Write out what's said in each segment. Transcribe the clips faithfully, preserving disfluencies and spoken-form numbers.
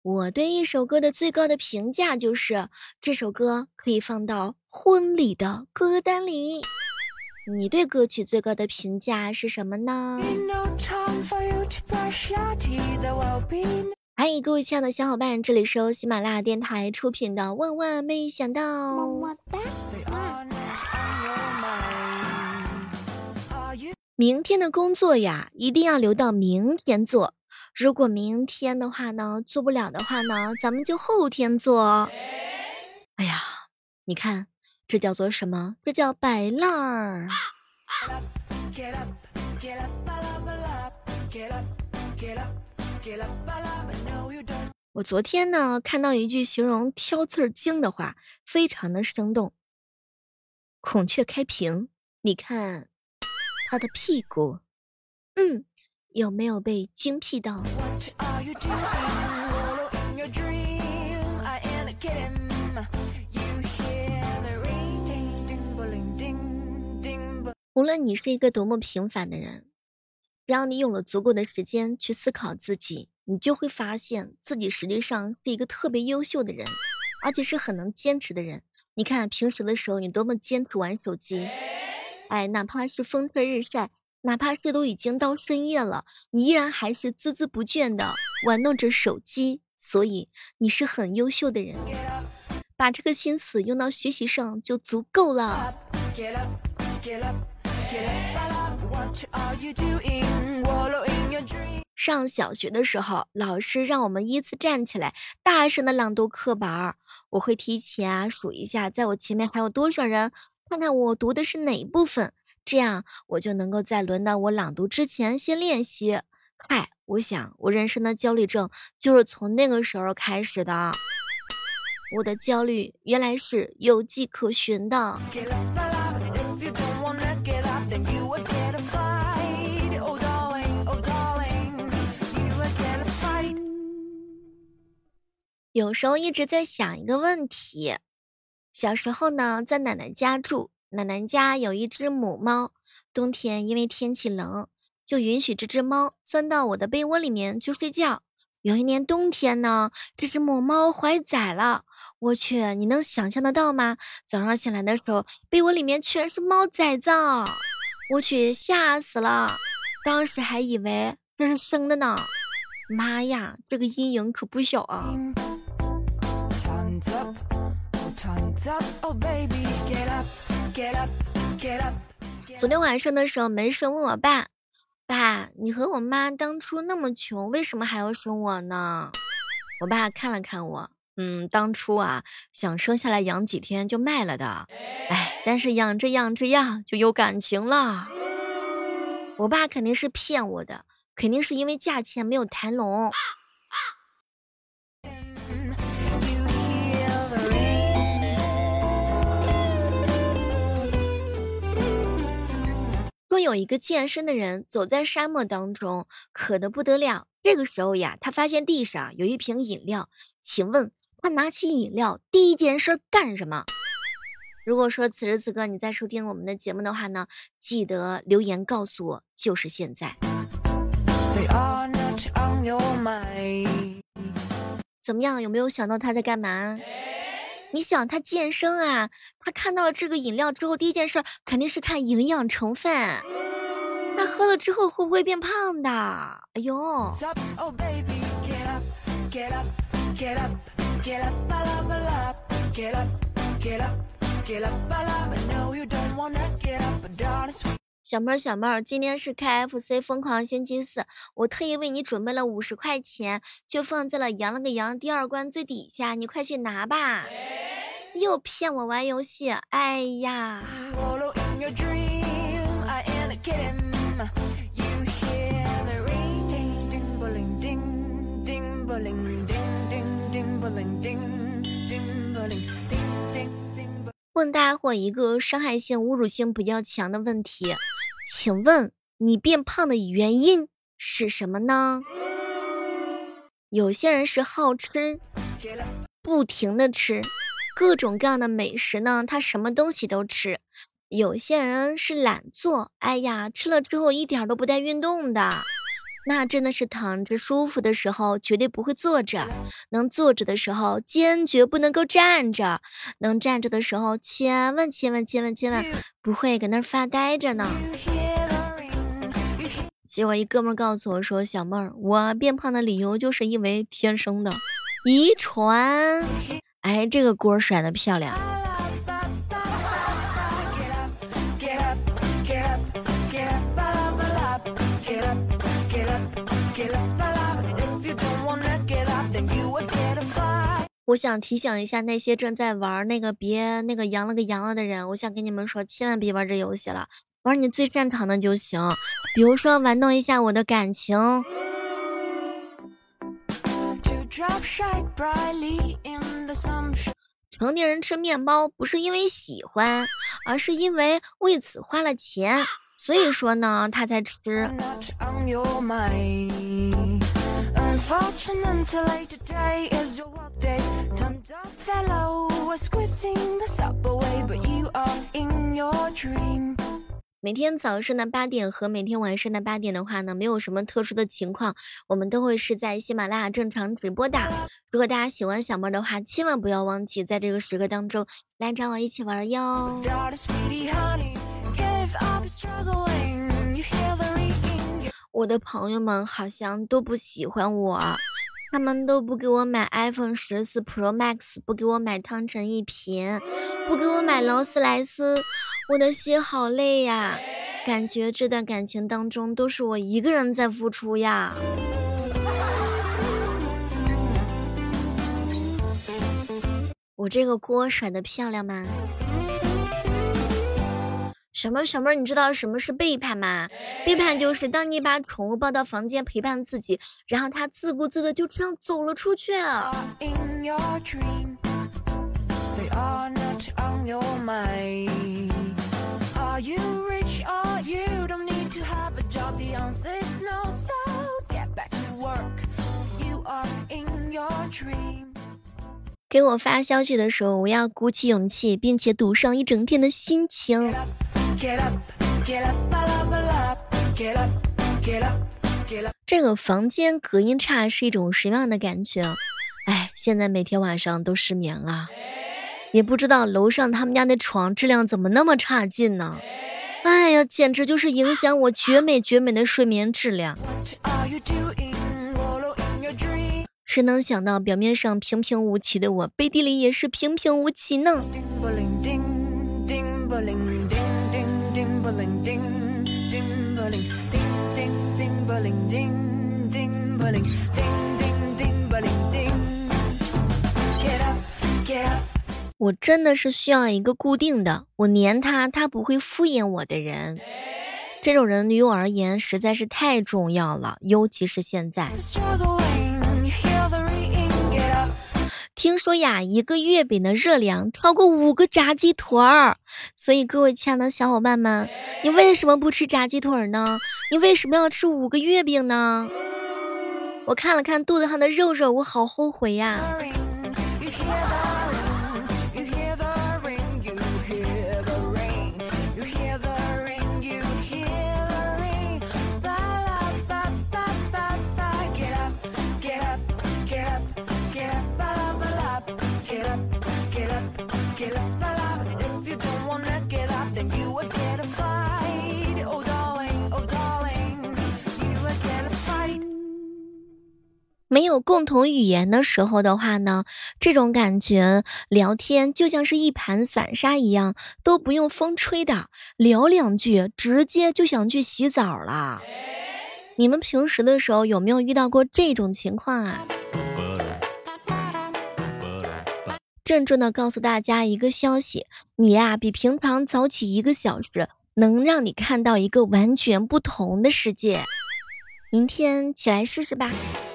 我对一首歌的最高的评价就是，这首歌可以放到婚礼的歌单里。你对歌曲最高的评价是什么呢？嗨，各位亲爱的小伙伴，这里是由喜马拉雅电台出品的《万万没想到》。么么哒。明天的工作呀，一定要留到明天做。如果明天的话呢，做不了的话呢，咱们就后天做。哎呀，你看，这叫做什么？这叫摆烂儿。我昨天呢，看到一句形容挑刺儿精的话，非常的生动。孔雀开屏，你看他的屁股，嗯，有没有被精辟到？无论你是一个多么平凡的人，只要你有了足够的时间去思考自己，你就会发现自己实际上是一个特别优秀的人，而且是很能坚持的人。你看平时的时候你多么坚持玩手机，哎，哪怕是风吹日晒，哪怕是都已经到深夜了，你依然还是孜孜不倦的玩弄着手机，所以你是很优秀的人，把这个心思用到学习上就足够了。上小学的时候，老师让我们依次站起来，大声的朗读课本。我会提前啊数一下，在我前面还有多少人，看看我读的是哪一部分，这样我就能够在轮到我朗读之前先练习。嗨，我想我人生的焦虑症就是从那个时候开始的。我的焦虑原来是有迹可循的。有时候一直在想一个问题，小时候呢，在奶奶家住，奶奶家有一只母猫，冬天因为天气冷，就允许这只猫钻到我的被窝里面去睡觉。有一年冬天呢，这只母猫怀崽了，我去，你能想象得到吗？早上醒来的时候，被窝里面全是猫崽子，我去，吓死了，当时还以为这是生的呢。妈呀，这个阴影可不小啊。昨天晚上的时候没事问我爸，爸，你和我妈当初那么穷，为什么还要生我呢？我爸看了看我，嗯，当初啊想生下来养几天就卖了的，哎，但是养着养着呀就有感情了。我爸肯定是骗我的，肯定是因为价钱没有谈拢。说有一个健身的人走在沙漠当中，渴得不得了。这个时候呀，他发现地上有一瓶饮料，请问他拿起饮料第一件事干什么？如果说此时此刻你在收听我们的节目的话呢，记得留言告诉我，就是现在。怎么样，有没有想到他在干嘛？你想他健身啊，他看到了这个饮料之后，第一件事肯定是看营养成分，那喝了之后会不会变胖的？哎呦，小妹儿小妹儿，今天是 K F C 疯狂星期四，我特意为你准备了五十块钱，就放在了羊了个羊第二关最底下，你快去拿吧。又骗我玩游戏，哎呀。问大伙一个伤害性、侮辱性比较强的问题，请问你变胖的原因是什么呢？有些人是好吃，不停的吃各种各样的美食呢，他什么东西都吃。有些人是懒做，哎呀，吃了之后一点都不带运动的。 那真的是躺着舒服的时候绝对不会坐着，能坐着的时候坚决不能够站着，能站着的时候千万千万千万千万不会搁那儿发呆着呢。结果一哥们儿告诉我说，小妹儿，我变胖的理由就是因为天生的遗传。哎，这个锅甩得漂亮。我想提醒一下那些正在玩那个别那个阳了个阳了的人，我想跟你们说，千万别玩这游戏了，玩你最擅长的就行，比如说玩弄一下我的感情。成年人吃面包不是因为喜欢，而是因为为此花了钱，所以说呢他才吃。每天早上的八点和每天晚上的八点的话呢，没有什么特殊的情况，我们都会是在喜马拉雅正常直播的。如果大家喜欢小妹的话，千万不要忘记在这个时刻当中来找我一起玩哟。我的朋友们好像都不喜欢我，他们都不给我买 iPhone 十四 Pro Max， 不给我买汤臣一品，不给我买劳斯莱斯，我的心好累呀，感觉这段感情当中都是我一个人在付出呀。我这个锅甩得漂亮吗？什么什么？你知道什么是背叛吗？背叛就是当你把宠物抱到房间陪伴自己，然后它自顾自的就这样走了出去。给我发消息的时候，我要鼓起勇气，并且赌上一整天的心情。这个房间隔音差是一种什么样的感觉？哎，现在每天晚上都失眠啊，也不知道楼上他们家的床质量怎么那么差劲呢？哎呀，简直就是影响我绝美绝美的睡眠质量。谁能想到表面上平平无奇的我，背地里也是平平无奇呢？我真的是需要一个固定的，我黏他，他不会敷衍我的人。这种人对于我而言实在是太重要了，尤其是现在。听说呀，一个月饼的热量超过五个炸鸡腿儿，所以各位亲爱的小伙伴们，你为什么不吃炸鸡腿呢？你为什么要吃五个月饼呢？我看了看肚子上的肉肉，我好后悔呀。没有共同语言的时候的话呢，这种感觉聊天就像是一盘散沙一样，都不用风吹的，聊两句直接就想去洗澡了。你们平时的时候有没有遇到过这种情况啊？郑重的告诉大家一个消息，你呀比平常早起一个小时，能让你看到一个完全不同的世界。明天起来试试吧。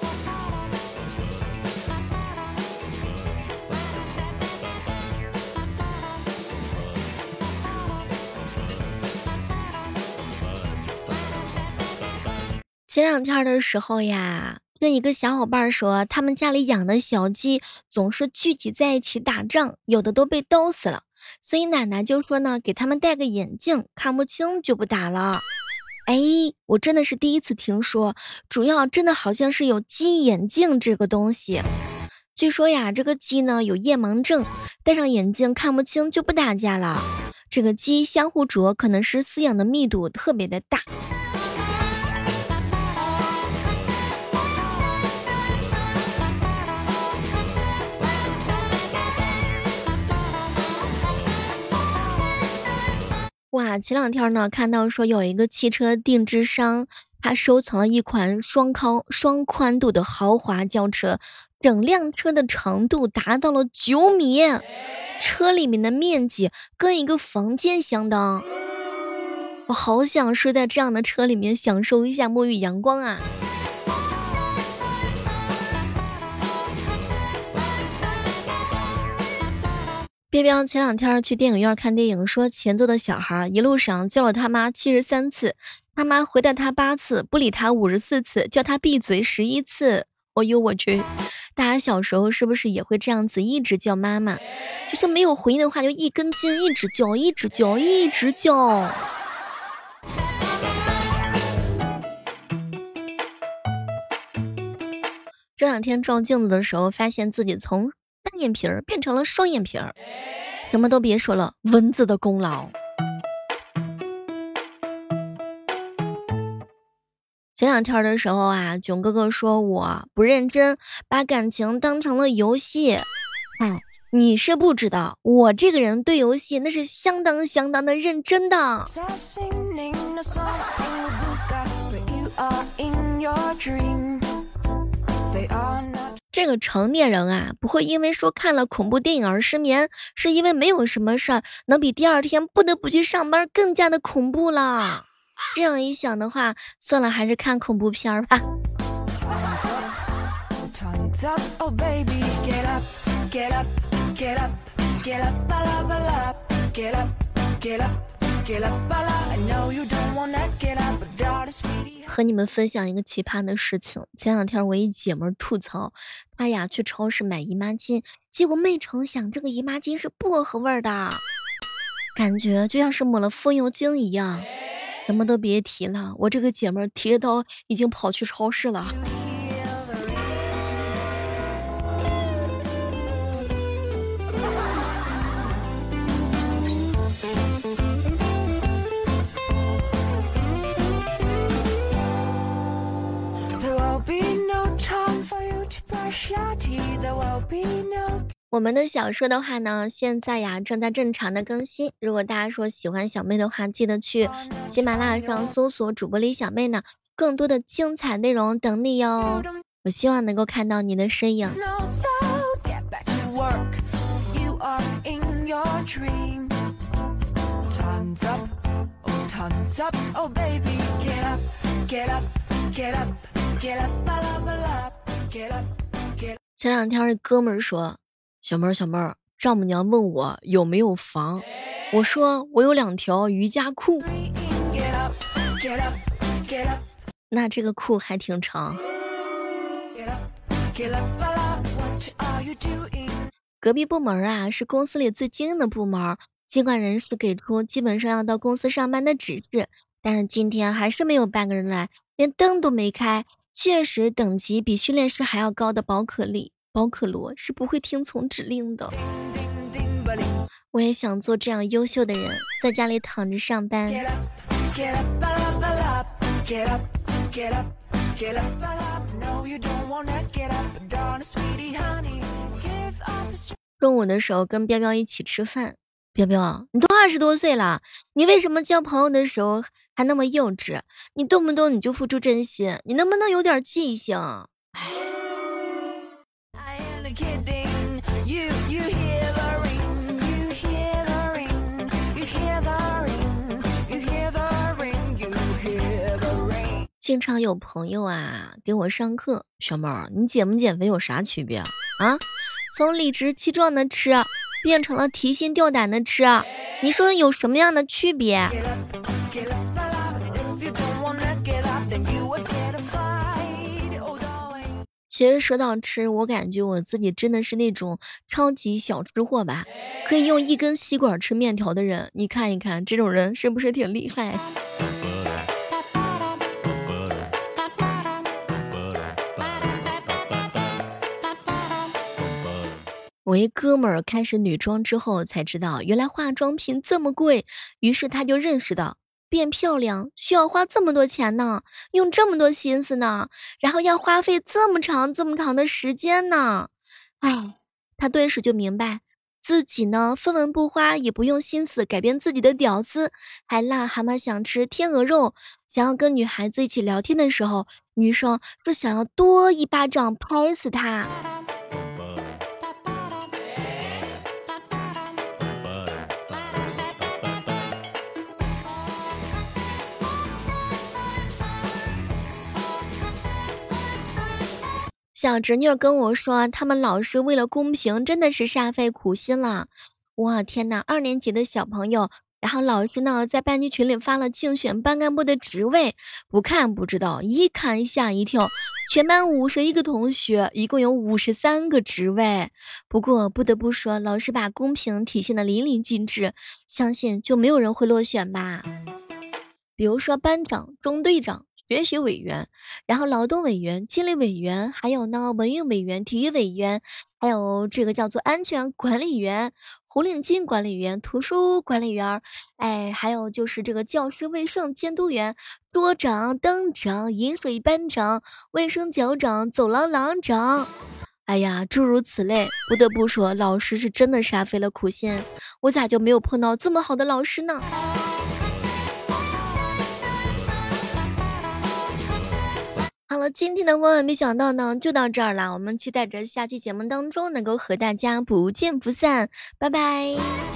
前两天的时候呀，跟一个小伙伴说，他们家里养的小鸡总是聚集在一起打仗，有的都被刀死了，所以奶奶就说呢，给他们戴个眼镜，看不清就不打了。 哎，我真的是第一次听说，主要真的好像是有鸡眼镜这个东西。据说呀，这个鸡呢有夜盲症，戴上眼镜看不清就不打架了。这个鸡相互啄可能是饲养的密度特别的大。哇，前两天呢看到说有一个汽车定制商，他收藏了一款双高双宽度的豪华轿车，整辆车的长度达到了九米，车里面的面积跟一个房间相当。我好想睡在这样的车里面，享受一下沐浴阳光啊！彪彪前两天去电影院看电影，说前座的小孩一路上叫了他妈七十三次，他妈回答他八次，不理他五十四次，叫他闭嘴十一次。哦呦我去！大家小时候是不是也会这样子一直叫妈妈？就是没有回应的话，就一根筋，一直叫，一直叫，一直叫。这两天照镜子的时候，发现自己从单眼皮儿变成了双眼皮儿。什么都别说了，蚊子的功劳。前两天的时候啊，囧哥哥说我不认真，把感情当成了游戏。哎，你是不知道，我这个人对游戏那是相当相当的认真的。这个成年人啊，不会因为说看了恐怖电影而失眠，是因为没有什么事儿能比第二天不得不去上班更加的恐怖了。这样一想的话，算了，还是看恐怖片儿吧。和你们分享一个奇葩的事情，前两天我一姐们吐槽，她呀去超市买姨妈巾，结果没成想这个姨妈巾是薄荷味的，感觉就像是抹了风油精一样。什么都别提了，我这个姐们提着刀已经跑去超市了。我们的小说的话呢，现在呀正在正常的更新。如果大家说喜欢小妹的话，记得去喜马拉雅上搜索主播李小妹呢，更多的精彩内容等你哟。我希望能够看到你的身影。前两天哥们儿说，小妹儿小妹儿，丈母娘问我有没有房，我说我有两条瑜伽裤，那这个裤还挺长。隔壁部门啊是公司里最精英的部门，尽管人事给出基本上要到公司上班的指示，但是今天还是没有半个人来，连灯都没开。确实等级比训练师还要高的宝可丽宝可罗是不会听从指令的。我也想做这样优秀的人，在家里躺着上班。中午的时候跟彪彪一起吃饭，彪彪，你都二十多岁了，你为什么交朋友的时候还那么幼稚？你动不动你就付出真心，你能不能有点记性？经常有朋友啊给我上课，小妹儿，你减不减肥有啥区别啊？从理直气壮的吃变成了提心吊胆的吃，你说有什么样的区别？其实说到吃，我感觉我自己真的是那种超级小吃货吧，可以用一根吸管吃面条的人，你看一看这种人是不是挺厉害？ 我一哥们儿开始女装之后才知道，原来化妆品这么贵，于是他就认识到变漂亮需要花这么多钱呢，用这么多心思呢，然后要花费这么长这么长的时间呢。唉，他顿时就明白，自己呢分文不花，也不用心思改变自己的屌丝，还癞蛤蟆想吃天鹅肉，想要跟女孩子一起聊天的时候，女生是想要多一巴掌拍死他。小侄女跟我说，他们老师为了公平，真的是煞费苦心了。我天呐，二年级的小朋友，然后老师呢在班级群里发了竞选班干部的职位，不看不知道，一看吓一跳，全班五十一个同学，一共有五十三个职位。不过不得不说，老师把公平体现的淋漓尽致，相信就没有人会落选吧。比如说班长、中队长、学习委员，然后劳动委员、纪律委员，还有呢文娱委员、体育委员，还有这个叫做安全管理员、红领巾管理员、图书管理员，哎，还有就是这个教师卫生监督员、桌长、灯长、饮水班长、卫生角长、走廊廊长。哎呀，诸如此类，不得不说，老师是真的煞费了苦心。我咋就没有碰到这么好的老师呢？好了，今天的万万没想到呢，就到这儿了。我们期待着下期节目当中能够和大家不见不散，拜拜。